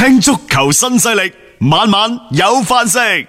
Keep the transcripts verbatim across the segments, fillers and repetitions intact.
聽足球新勢力，晚晚有飯食。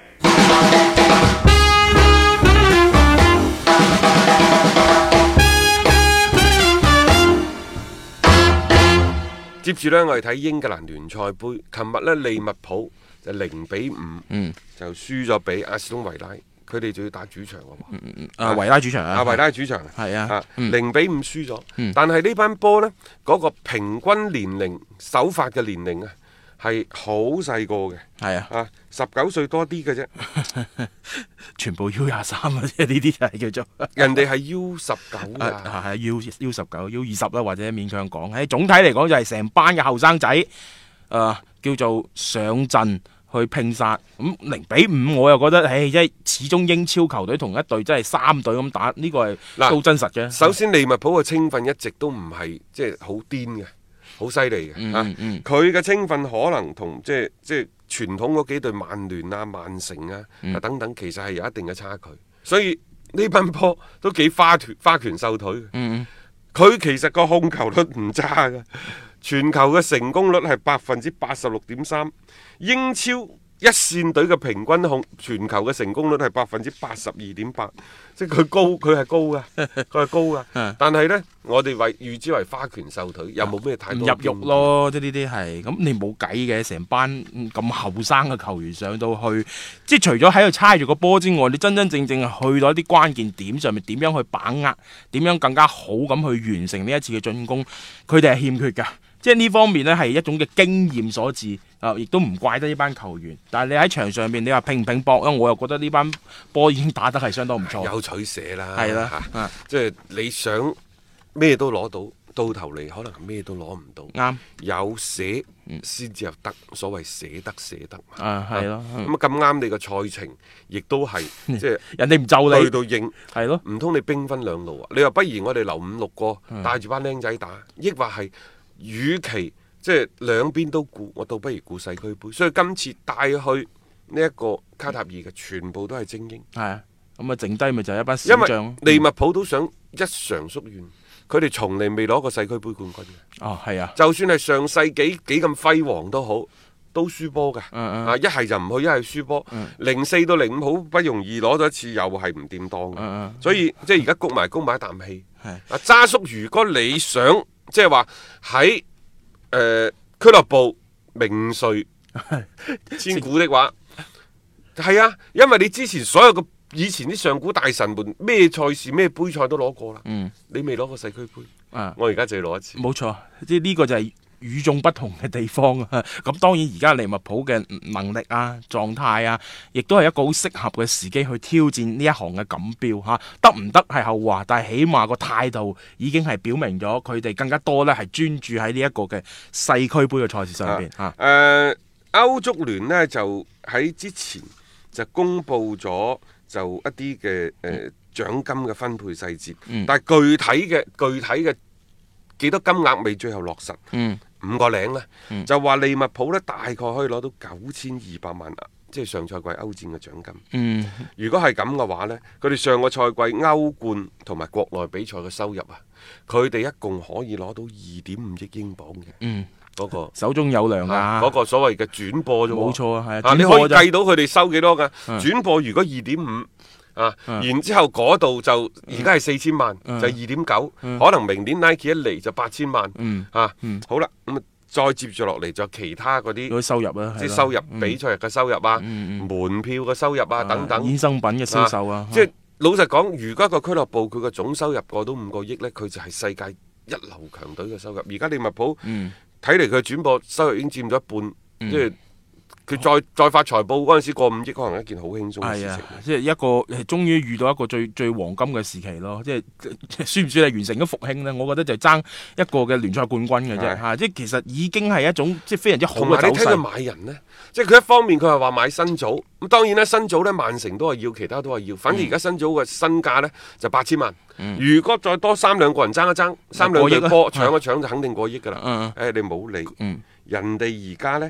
接住呢，我哋睇英格蘭聯賽杯。琴日呢，利物浦就零比五，嗯，就輸咗俾阿斯頓維拉。佢哋就要打主場嘅喎， 嗯嗯啊維拉主場啊， 啊維拉主場係啊， 零比五輸咗。 嗯、但係呢班波呢，嗰、嗰個平均年齡首發嘅年齡啊，係好細個嘅， 係啊， 啊十九歲多啲嘅啫， 全部 U 廿三啊，即係呢啲就係叫做人哋係 U 十九啊， 係係 U U 十九 U 二十啦，或者勉強講，喺總體嚟講就係成班嘅後生仔，誒、呃、叫做上陣去拼殺。咁零比五我又覺得，唉，即係始終英超球隊同一隊真係三隊咁打，呢、這個係都真實嘅。 首先利物浦嘅青訓一直都唔係即係好癲嘅，好犀利嘅嚇。佢嘅青訓可能同即係即係傳統嗰幾隊曼聯啊、曼城啊、嗯、等等，其實係有一定嘅差距。所以呢班波都幾花拳花拳繡腿嘅。佢、嗯、其實個控球率唔差嘅，全球嘅成功率係百分之八十六點三，英超一線隊嘅平均控全球嘅成功率係百分之八十二點八，即係佢高，佢係高噶，佢係高噶。但係呢，我哋為預之為花拳繡腿，又冇咩太多入肉咯，即係呢啲係咁，你冇計嘅。成班咁後生嘅球員上到去，即係除咗喺度猜住個波之外，你真真正正去到一啲關鍵點上面，點樣去把握，點樣更加好咁去完成呢一次嘅進攻，佢哋係欠缺噶。即係呢方面呢係一種嘅經驗所致，啊、呃，亦都唔怪得呢班球員。但係你喺場上面，你話拼唔拼搏咧？我又覺得呢班波已經打得係相當唔錯。 有取捨啦， 係啦， 啊啊、即係你想咩都攞到，到頭嚟可能咩都攞唔到。啱，有捨先至有得，所謂捨得捨得。 啊，係咯。 咁啊咁啱你個賽程，亦都係即係人哋唔就你去到應， 係咯。 唔通你兵分兩路啊？你話不如我哋留五六個帶住班僆仔打，抑或係？與其即係兩邊都顧，我倒不如顧世俱杯。所以今次帶去呢一個卡塔爾嘅全部都係精英。 係啊，咁啊剩低咪就係一班小將。 因為利物浦都想一償夙願，佢哋從嚟未攞過世俱杯冠軍嘅。 哦，係啊。就算係上世紀幾咁輝煌都好，都輸波㗎。 嗯嗯啊，一係就唔去，一係輸波。零四到零五好不容易攞咗一次，又係唔掂當嘅。 嗯嗯所以即係而家谷埋谷埋一啖氣。 係。 啊，渣叔，如果你想即係話喺誒俱樂部名垂千古的話，係啊，因為你之前所有嘅以前啲上古大神們咩賽事咩杯賽都攞過啦，嗯，你未攞過世俱杯，啊，我而家就要攞一次， 冇錯，即係呢個就係與眾不同嘅地方啊！咁當然而家利物浦嘅能力啊、狀態啊，亦都係一個好適合嘅時機去挑戰呢一行嘅錦標嚇。得唔得係後話，但係起碼個態度已經係表明咗佢哋更加多咧係專注喺呢一個嘅世俱杯嘅賽事上邊嚇。誒、啊呃，歐足聯呢就喺之前就公布咗就一啲嘅誒獎金嘅分配細節，嗯、但係具體嘅具體嘅幾多金額未最後落實。嗯五個零呢，嗯、就話利物浦呢大概可以攞到九千二百萬，即係上賽季歐戰嘅獎金。嗯、如果係咁嘅話呢，佢哋上個賽季歐冠同埋國內比賽嘅收入啊，佢哋一共可以攞到二點五億英鎊嘅。嗯，嗰、嗰個手中有糧啊！ 嗰、啊嗰個所謂嘅轉播啫喎。冇錯啊，係啊，你可以計到佢哋收幾多㗎？嗯、轉播如果二點五。啊，然之後嗰度就而家係四千萬，嗯、就係二點九，可能明年 Nike 一嚟就八千萬，嗯、啊，嗯、好啦，咁啊再接住落嚟就其他嗰啲收入啊， 即係收入、嗯、比賽日嘅收入啊， 嗯、 門票嘅收入啊、嗯、等等， 衍生品嘅銷售啊， 即係老實講，如果一個俱樂部佢嘅總收入過到五個億呢，佢就係世界一流強隊嘅收入。而家利物浦睇嚟佢轉播收入已經佔咗一半，嗯、即係。佢再再發財報嗰陣時過五億，可能係一件好輕鬆嘅事情。係啊， 即係一個係終於遇到一個最最黃金嘅時期咯。即係算唔算係完成咗復興呢？我覺得就係爭一個嘅聯賽冠軍嘅啫。嚇、啊，即係其實已經係一種即係非常之好嘅走勢。 你睇佢買人呢，即係佢一方面佢係話買新組，咁當然啦，新組呢，曼城都係要，其他都係要。反正而家新組嘅身價呢，就八千萬。嗯、如果再多三兩個人爭一爭，三兩隊波搶一搶就肯定過億㗎啦。誒、嗯，你冇理。嗯、人哋而家呢。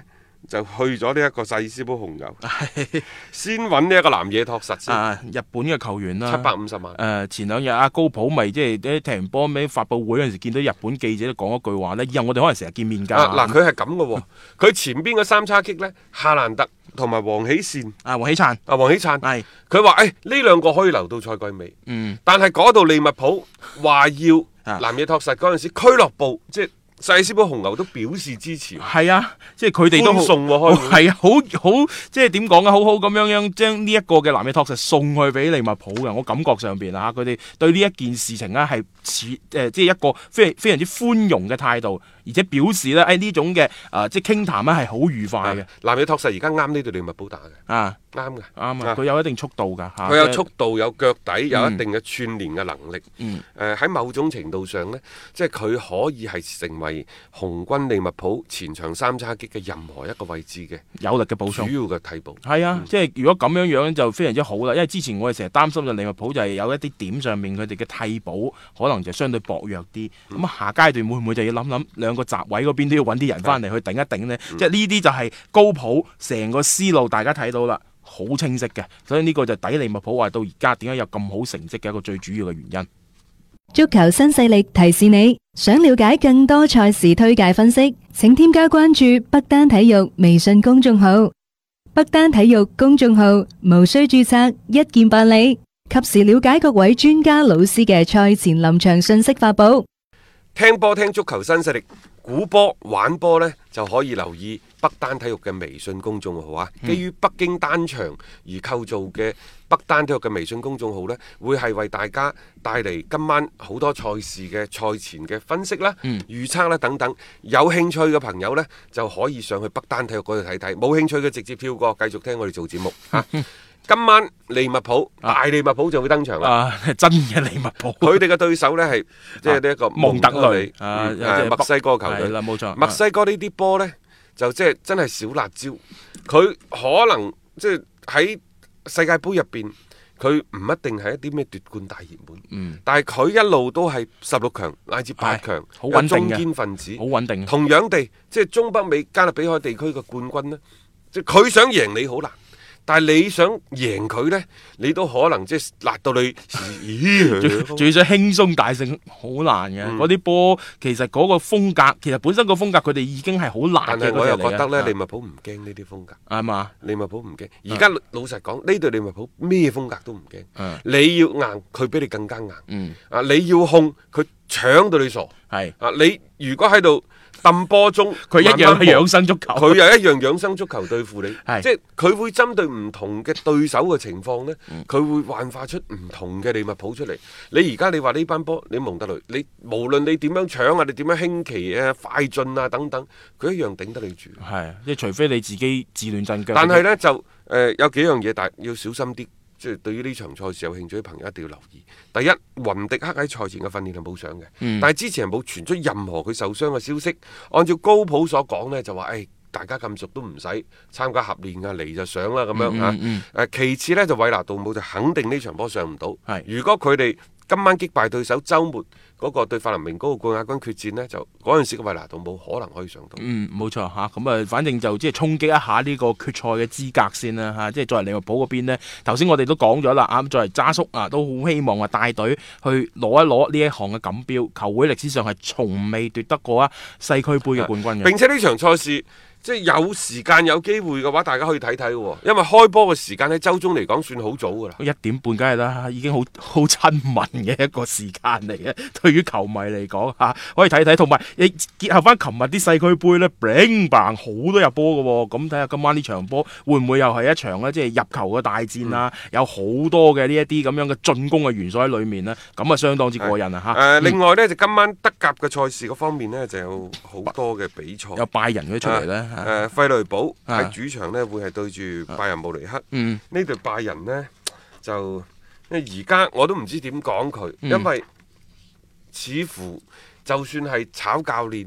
就去咗呢一個細斯堡紅牛，先揾呢一個南野拓實先， 啊，日本嘅球員啦， 七百五十萬。 誒、呃、前兩日阿高普咪即係啲踢完波尾發佈會嗰陣時，見到日本記者都講一句話咧，以後我哋可能成日見面㗎。 嗱，佢係咁嘅喎，佢前邊嘅三叉戟呢，夏蘭特同埋黃喜善， 啊，黃喜燦， 啊黃喜燦， 係佢話誒呢兩個可以留到賽季尾， 嗯， 但係嗰度利物浦話要南野拓實嗰陣時，俱樂部即係細斯堡紅牛都表示支持。 係啊，即係佢哋都好送喎，開係啊，好好即係點講啊，好好咁樣樣將呢一個嘅南野拓實送去俾利物浦嘅，我感覺上邊啊，佢哋對呢一件事情咧係似誒，即係一個非非常之寬容嘅態度，而且表示咧誒呢種嘅誒、呃、即係傾談咧係好愉快嘅。 南野拓實而家啱呢隊利物浦打嘅， 啊啱嘅， 啱啊，佢有一定速度㗎， 佢有速度，有腳底，有一嗯定嘅串聯嘅能力。 嗯， 誒喺某種程度上呢，即係佢可以係成為紅軍利物浦前場三叉戟嘅任何一個位置嘅有力嘅補充， 主要嘅替補。 係啊， 嗯、 即係如果咁樣樣就非常之好啦，因為之前我哋成日擔心就利物浦就係有一啲點上面佢哋嘅替補可能就相對薄弱啲，咁、嗯、下階段會唔會就要諗諗兩個閘位嗰邊都要揾啲人翻嚟去頂一頂呢？嗯、即係呢啲就係高普成個思路，大家睇到啦，好清晰嘅，所以呢個就抵利物浦話到而家點解有咁好成績嘅一個最主要嘅原因。 足球新勢力提示你，想了解更多賽事推介分析，請添加關注北單體育微信公眾號。北單體育公眾號無需註冊，一鍵辦理，及時了解各位專家老師嘅賽前臨場信息發布。 聽波聽足球新勢力，估波玩波呢就可以留意北單體育嘅微信公眾號啊！嗯、基於北京單場而構造嘅北單體育嘅微信公眾號呢，會係為大家帶嚟今晚好多賽事嘅賽前嘅分析啦、嗯、預測啦等等。有興趣嘅朋友呢，就可以上去北單體育嗰度睇睇；冇興趣嘅直接跳過，繼續聽我哋做節目嚇。今晚利物浦、啊、大利物浦就會登場啦、 啊！真嘅利物浦， 佢哋嘅對手呢係即係呢一個蒙特雷啊，墨西哥球隊。 係啦，冇錯。 墨西哥呢啲波呢，就即係真係小辣椒。佢可能即係喺世界盃入邊，佢唔一定係一啲咩奪冠大熱門。嗯、但係佢一路都係十六強乃至八強， 好穩定嘅中堅分子， 好穩定。 同樣地，即係中北美加勒比海地區嘅冠軍呢，即係佢想贏你好難。但係你想贏佢呢，你都可能即係辣到你， 仲要想輕鬆大勝，好難嘅。嗰啲波其實嗰個風格，其實本身個風格佢哋已經係好辣嘅。 但係我又覺得呢，利物浦唔驚呢啲風格， 係嘛？ 利物浦唔驚。而家老實講，呢隊利物浦咩風格都唔驚。你要硬，佢比你更加硬。啊，你要控，佢搶到你傻。係啊，你如果喺度揼波中， 佢一樣係養生足球， 佢又一樣養生足球對付你， 係即係佢會針對唔同嘅對手嘅情況呢，佢、嗯、會幻化出唔同嘅利物浦出嚟。你而家你話呢班波，你蒙特雷，你無論你點樣搶啊，你點樣輕奇啊、快進啊等等，佢一樣頂得你住。 係，即係除非你自己自亂陣腳。 但係呢，就誒、呃、有幾樣嘢，但係要小心啲。即係對於呢場賽事有興趣嘅朋友一定要留意。第一，雲迪克喺賽前嘅訓練係冇上嘅，嗯、但係之前係冇傳出任何佢受傷嘅消息。按照高普所講呢，就話誒、哎、大家咁熟都唔使參加合練啊，嚟就上啦咁樣嚇。誒、嗯嗯嗯、其次呢，就韋拿杜姆就肯定呢場波上唔到。是如果佢哋今晚擊敗對手，週末嗰個對法蘭明嗰個冠亞軍決戰呢，就嗰陣時嘅維拿杜冇可能可以上到。 嗯，冇錯嚇，咁啊，反正就即係衝擊一下呢個決賽嘅資格先啦嚇。即係作為利物浦嗰邊咧，頭先我哋都講咗啦，啊，作為渣叔啊，都好希望話帶隊去攞一攞呢一項嘅錦標。球會歷史上係從未奪得過啊世俱杯嘅冠軍嘅。 並且呢場賽事，即係有時間有機會嘅話，大家可以睇睇喎。因為開波嘅時間喺週中嚟講算好早㗎啦， 一點半梗係啦，已經好好親民嘅一個時間嚟嘅。對於球迷嚟講嚇，可以睇睇。同埋你結合翻琴日啲世俱杯咧，bang bang 好多入波嘅喎。咁睇下今晚呢場波會唔會又係一場咧，即係入球嘅大戰啊？嗯、有好多嘅呢一啲咁樣嘅進攻嘅元素喺裡面咧，咁啊相當之過癮啊嚇。誒、 呃，另外呢，就今晚德甲嘅賽事嗰方面呢，就有好多嘅比賽， 有拜仁嗰啲出嚟咧。啊誒、呃，費雷堡喺主場呢會係對住拜仁慕尼黑。 嗯， 呢隊拜仁呢，就因為而家我都唔知點講佢，嗯、因為似乎就算係炒教練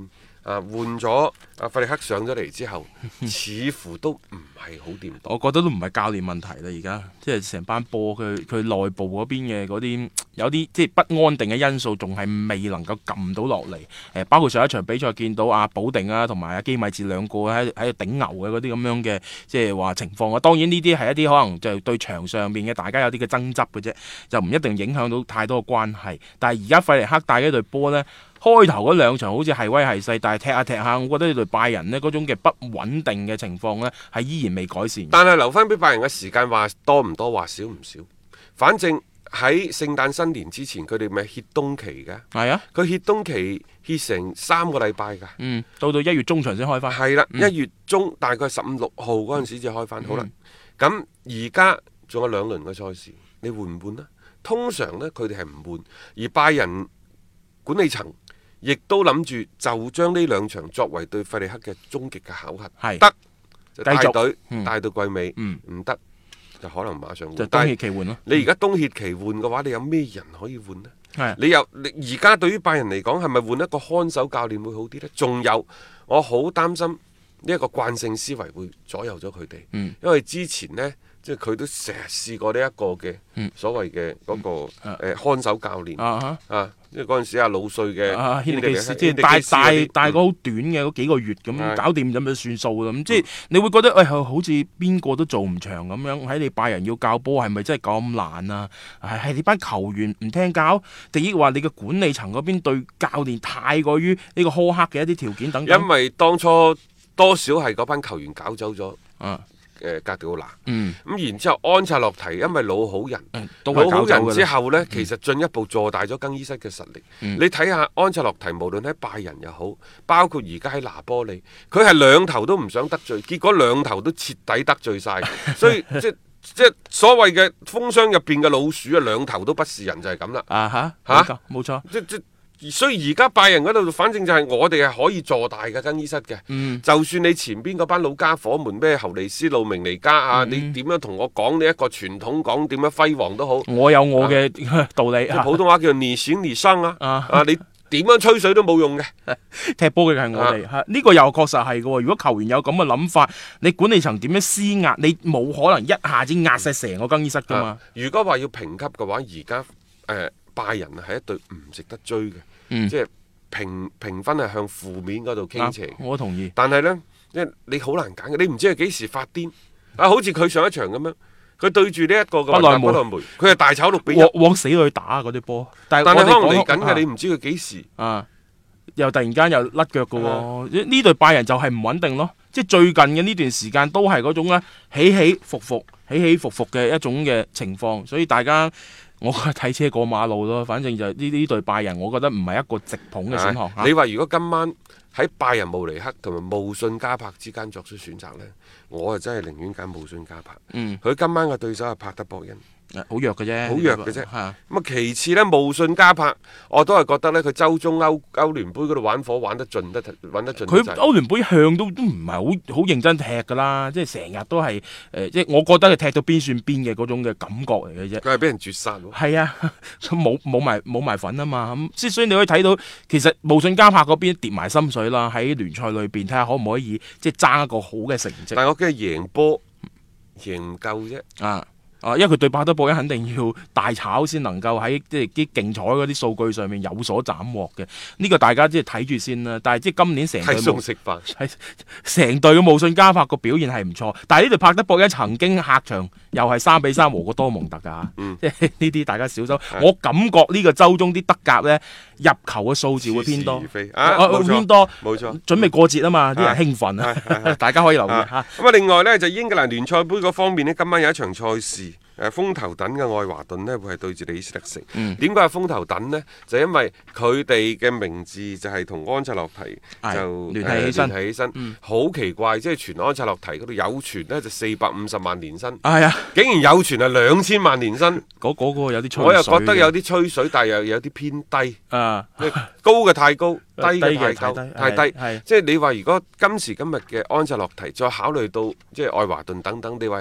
啊換咗阿費力克上咗嚟之後，似乎都唔係好掂到。 我覺得都唔係教練問題啦，而家即係成班波佢佢內部嗰邊嘅嗰啲有啲即係不安定嘅因素，仲係未能夠撳到落嚟。誒，包括上一場比賽見到阿保定啊，同埋阿基米治兩個喺喺度頂牛嘅嗰啲咁樣嘅即係話情況啊。當然呢啲係一啲可能就對場上面嘅大家有啲嘅爭執嘅啫，就唔一定影響到太多嘅關係。但係而家費力克帶嘅隊波呢，開頭嗰兩場好似係威係勢，但係踢下踢下，我覺得呢隊拜仁呢嗰種嘅不穩定嘅情況呢，係依然未改善。 但係留翻俾拜仁嘅時間話多唔多，話少唔少，反正喺聖誕新年之前，佢哋咪歇冬期嘅。 係啊， 佢歇冬期歇成三個禮拜㗎。 嗯，到到一月中旬先開翻。 係啦， 嗯、 一月中大概十五六號嗰陣時至開翻。 嗯、 好啦，咁而家仲有兩輪嘅賽事，你換唔換呢？通常呢，佢哋係唔換，而拜仁管理層亦都諗住就將呢兩場作為對費利克嘅終極嘅考核。係得就帶隊、嗯、帶到季尾，唔得、嗯、就可能馬上換。 就冬歇期換咯。 你而家冬歇期換嘅話，你有咩人可以換呢？ 係你又你而家對於拜仁嚟講，係咪換一個看守教練會好啲呢？仲有，我好擔心呢一個慣性思維會左右咗佢哋。嗯、因為之前呢。即係佢都成日試過呢一個嘅所謂嘅嗰個誒看守教練啊，啊，因為嗰陣時阿老帥嘅軒尼基斯，即係帶帶帶個好短嘅嗰幾個月咁搞掂咁就算數啦。咁即係你會覺得誒，好似邊個都做唔長咁樣。喺你拜仁要教波係咪真係咁難啊？係係你班球員唔聽教，定抑或話你嘅管理層嗰邊對教練太過於呢個苛刻嘅一啲條件等等？ 因為當初多少係嗰班球員搞走咗。啊誒格迪奧拿，咁、嗯、然之後安察洛提因為老好人，嗯、老好人之後呢，嗯、其實進一步坐大咗更衣室嘅實力。嗯、你睇下安察洛提，無論喺拜仁又好，包括而家喺拿波利，佢係兩頭都唔想得罪，結果兩頭都徹底得罪晒，所以即即所謂嘅蜂箱入邊嘅老鼠啊，兩頭都不是人就係咁啦。 啊哈，嚇，冇錯， 即即。所以而家拜仁嗰度，反正就係我哋係可以坐大嘅更衣室嘅。嗯、就算你前邊嗰班老家伙們咩侯尼斯路明尼加啊，嗯、你點樣同我講呢一個傳統講點樣輝煌都好， 我有我嘅道理。 啊、普通話叫做你行你上啊，啊，啊你點樣吹水都冇用嘅。 踢波嘅係我哋，呢、啊、個又確實係嘅。如果球員有咁嘅諗法，你管理層點樣施壓？你冇可能一下子壓晒成個更衣室噶嘛、啊。如果話要評級嘅話，而家誒。呃拜仁啊，係一隊唔值得追嘅，嗯、即係評評分係向負面嗰度傾斜、啊。我同意。但係呢，即係你好難揀嘅，你唔知係幾時發癲啊！好似佢上一場咁樣，佢對住呢一個嘅不萊梅，佢係大炒六比一， 往死裏打嗰啲波。但係可能嚟緊嘅，你唔知佢幾時啊，又突然間又甩腳嘅喎。呢隊、啊、拜仁就係唔穩定咯，即係最近嘅呢段時間都係嗰種咧起起伏伏、起起伏伏嘅一種嘅情況，所以大家。我覺得睇車過馬路咯，反正就呢呢隊拜仁，我覺得唔係一個直捧嘅選項。 啊、你話如果今晚喺拜仁慕尼黑同埋慕遜加柏之間作出選擇呢，我啊真係寧願揀慕遜加柏。嗯，佢今晚嘅對手係帕德博恩。 好弱嘅啫， 好弱嘅啫。咁啊，其次呢，慕遜加柏，我都係覺得呢，佢周中歐歐聯杯嗰度玩火玩得盡得，玩得盡。 佢歐聯杯向都都唔係好好認真踢噶啦，即係成日都係誒、呃，即係我覺得佢踢到邊算邊嘅嗰種嘅感覺嚟嘅啫。 佢係俾人絕殺喎。 係啊，冇冇埋冇埋份啊嘛。咁即係所以你可以睇到，其實慕遜加柏嗰邊跌埋心水啦，喺聯賽裏邊睇下可唔可以即係爭一個好嘅成績。 但係我驚贏波贏唔夠啫。啊！ 啊，因為佢對巴德堡肯定要大炒先能夠喺即係啲競彩嗰啲數據上面有所斬獲嘅，呢、這個大家即係睇住先啦。但係即係今年成隊冇食飯，係成隊嘅慕遜加柏個表現係唔錯，但係呢隊帕德堡一曾經客場又係三比三和過多蒙特噶，即係呢啲大家小心。的我感覺呢個周中啲德甲咧入球嘅數字會偏多， 啊， 偏多， 冇錯， 準備過節啊嘛，啲人興奮啊，大家可以留意吓。 咁啊，另外呢，就英格蘭聯賽杯嗰方面呢，今晚有一場賽事。誒風頭躉嘅愛華頓呢，會係對住李斯特城。點解係風頭躉呢？就因為佢哋嘅名字就係同安察洛提就聯繫起身， 起身。好、嗯、奇怪，即係傳安察洛提嗰度有傳呢，就四百五十萬年薪。 係啊， 竟然有傳係兩千萬年薪。嗰嗰個有啲吹水。 我又覺得有啲吹水，但係又有啲偏低。啊，高嘅太高，低嘅太高，太低。係即係你話，如果今時今日嘅安察洛提再考慮到即係愛華頓等等，你話有個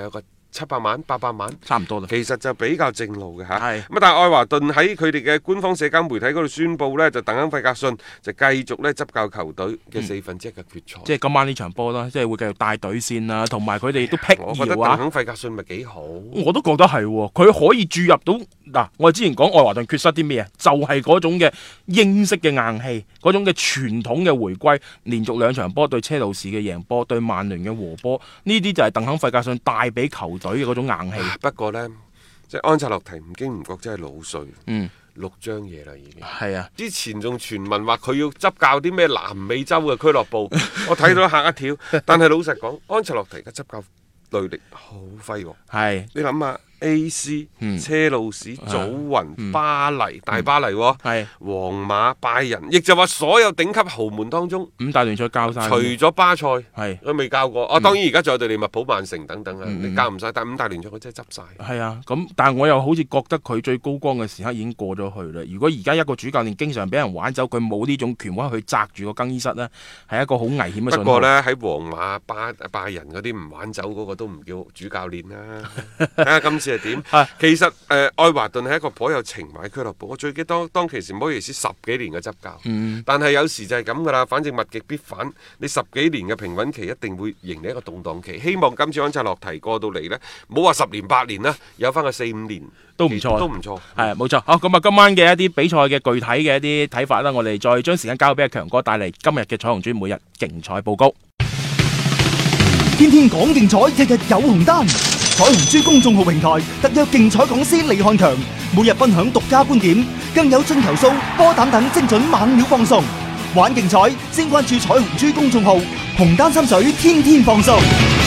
七百萬、八百萬， 差唔多啦。 其實就比較正路嘅嚇。 係咁但係愛華頓喺佢哋嘅官方社交媒體嗰度宣布呢，就鄧肯費格遜就繼續咧執教球隊嘅四分之一嘅決賽。 嗯、即係今晚呢場波啦，即係會繼續帶隊先啦，同埋佢哋都辟謠啊。 我覺得鄧肯費格遜咪幾好。 我都覺得係喎，佢可以注入到嗱，我哋之前講愛華頓缺失啲咩啊？就係、是、嗰種嘅英式嘅硬氣，嗰種嘅傳統嘅回歸，連續兩場波對車路士嘅贏波，對曼聯嘅和波，呢啲就係鄧肯費格遜帶俾球隊嘅嗰種硬氣。 不過呢，即係安察洛提唔經唔覺真係老帥， 嗯， 六張嘢啦已經。 係啊， 之前仲傳聞話佢要執教啲咩南美洲嘅俱樂部，我睇到嚇一跳。但係老實講，安察洛提嘅執教履歷好輝煌。 係你諗下 A C、 嗯、 車路士、祖雲、 嗯、 巴黎、大巴黎、哦， 係皇馬、拜仁，亦就話所有頂級豪門當中， 五大聯賽教晒， 除咗巴塞， 係佢未教過。哦、嗯，當然而家仲有對利物浦、曼城等等啊， 嗯、 你教唔晒，但係五大聯賽佢真係執晒。 係啊，咁但係我又好似覺得佢最高光嘅時刻已經過咗去啦。如果而家一個主教練經常俾人玩走，佢冇呢種權威去揸住個更衣室呢，係一個好危險嘅信號。 不過呢，喺皇馬、巴拜仁嗰啲唔玩走嗰個都唔叫主教練啦。睇下今次係點。其實誒、呃，愛華頓係一個頗有情懷俱樂部。我最記得當當其時摩耶斯十幾年嘅執教，嗯、但係有時就係咁噶啦。反正物極必反，你十幾年嘅平穩期一定會迎嚟一個動盪期。希望今次安察洛提過到嚟呢，唔好話十年八年啦，有翻個四五年都唔錯， 都唔錯。 係冇錯。好，咁啊，今晚嘅一啲比賽嘅具體嘅一啲睇法啦，我哋再將時間交俾阿強哥帶嚟今日嘅彩虹豬每日競彩報告。 天天講競彩，日日有紅單。彩虹豬公眾號平台特約競彩講師李漢強每日分享獨家觀點，更有進球數、波膽等精準猛料放送。玩競彩，先關注彩虹豬公眾號，紅單心水，天天放送。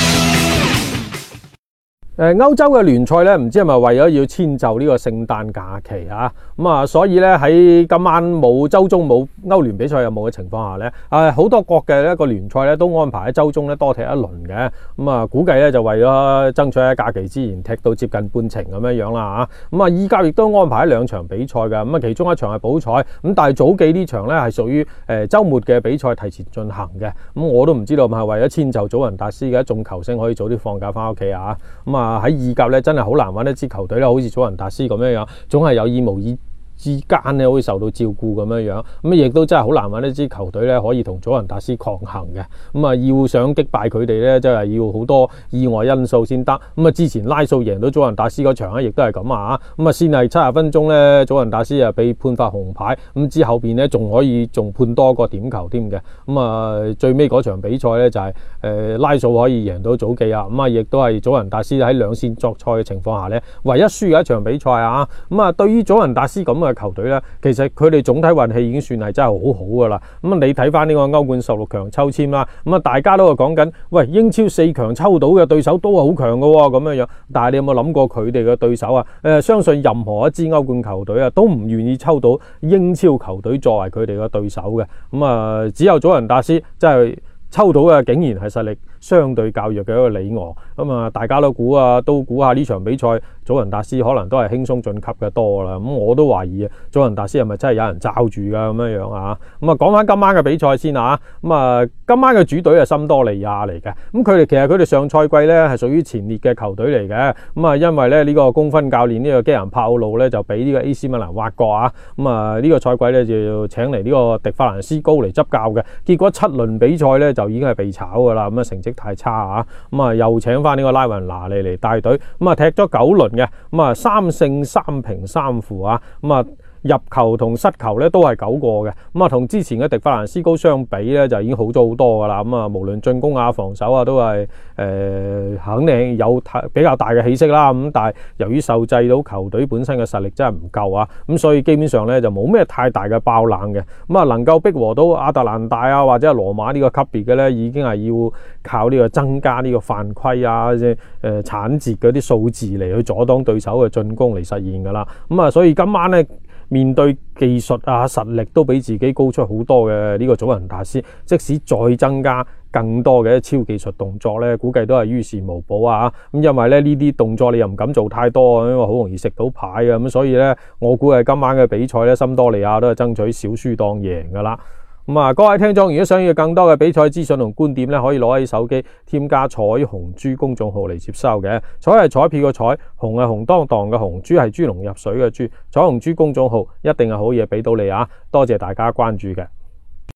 誒歐洲嘅聯賽咧，唔知係咪為咗要遷就呢個聖誕假期啊？咁啊，所以咧喺今晚冇週中冇歐聯比賽有冇嘅情況下咧，誒好多國嘅一個聯賽咧都安排喺週中咧多踢一輪嘅。咁啊，估計咧就為咗爭取喺假期之前踢到接近半程咁樣樣啦嚇。咁啊，意甲亦都安排咗兩場比賽嘅。咁啊，其中一場係補賽，咁但係早記呢場咧係屬於誒週末嘅比賽提前進行嘅。咁我都唔知道係咪為咗遷就祖雲達斯嘅一眾球星可以早啲放假翻屋企啊？咁啊〜喺意甲咧，真係好難揾一支球隊咧，好似祖雲達斯咁樣樣，總係有意無意之間咧，會受到照顧咁樣樣，咁亦都真係好難揾一支球隊咧，可以同祖雲達斯抗衡嘅。咁啊，要想擊敗佢哋咧，真係要好多意外因素先得。咁啊，之前拉素贏到祖雲達斯嗰場咧，亦都係咁啊。咁啊，先係七十分鐘咧，祖雲達斯啊被判罰紅牌，咁之後邊咧仲可以仲判多個點球添嘅。咁啊，最尾嗰場比賽咧就係、是、誒、呃、拉素可以贏到祖記啊。咁啊，亦都係祖雲達斯喺兩線作賽嘅情況下咧，唯一輸嘅一場比賽啊。咁啊，對於祖雲達斯咁嘅球隊咧，其實佢哋總體運氣已經算係真係好好噶啦。咁啊，你睇翻呢個歐冠十六強抽籤啦，咁啊，大家都係講緊，喂，英超四強抽到嘅對手都係好強噶喎，咁樣樣。但係你有冇諗過佢哋嘅對手啊？誒、呃，相信任何一支歐冠球隊啊，都唔願意抽到英超球隊作為佢哋嘅對手嘅。咁啊，只有祖雲達斯真係抽到嘅，竟然係實力相對較弱嘅一個里昂。咁啊，大家都估啊，都估下呢場比賽，祖雲達斯可能都係輕鬆晉級嘅多啦。咁我都懷疑啊，祖雲達斯係咪真係有人罩住噶咁樣樣啊？咁啊，講翻今晚嘅比賽先啊。咁啊，今晚嘅主隊係森多利亞嚟嘅。咁佢哋其實佢哋上賽季咧係屬於前列嘅球隊嚟嘅。咁啊，因為咧呢個功勳教練呢個基仁帕奧路咧就俾呢個 A C 米蘭挖角啊。咁啊，呢個賽季咧就要請嚟呢個迪法蘭斯高嚟執教嘅。結果七輪比賽咧就已經係被炒噶啦。咁啊，成績太差啊。咁啊，又請翻呢個拉雲拿利嚟帶隊。咁啊，踢咗九輪嘅。咁啊，三勝三平三負啊。咁啊，入球同失球咧都係九個嘅。咁啊，同之前嘅迪法蘭斯高相比咧就已經好咗好多噶啦。咁啊，無論進攻啊防守啊都係誒、呃、肯定有比較大嘅起色啦。咁但係由於受制到球隊本身嘅實力真係唔夠啊，咁所以基本上咧就冇咩太大嘅爆冷嘅。咁啊，能夠逼和到亞特蘭大啊或者係羅馬呢個級別嘅咧，已經係要靠呢個增加呢個犯規啊即係誒鏟截嗰啲數字嚟去阻擋對手嘅進攻嚟實現噶啦。咁啊，所以今晚咧面對技術啊實力都比自己高出好多嘅呢個祖雲達斯，即使再增加更多嘅超技術動作咧，估計都係於事無補啊！咁因為咧呢啲動作你又唔敢做太多，因為好容易食到牌啊！咁所以咧，我估係今晚嘅比賽咧，森多利亞都係爭取小輸當贏噶啦。 咁啊，各位聽眾，如果想要更多嘅比賽資訊同觀點咧，可以攞起手機添加彩虹豬公眾號嚟接收嘅。彩係彩票嘅彩，紅係紅當當嘅紅，豬係豬籠入水嘅豬。彩虹豬公眾號一定係好嘢俾到你啊！多謝大家關注嘅。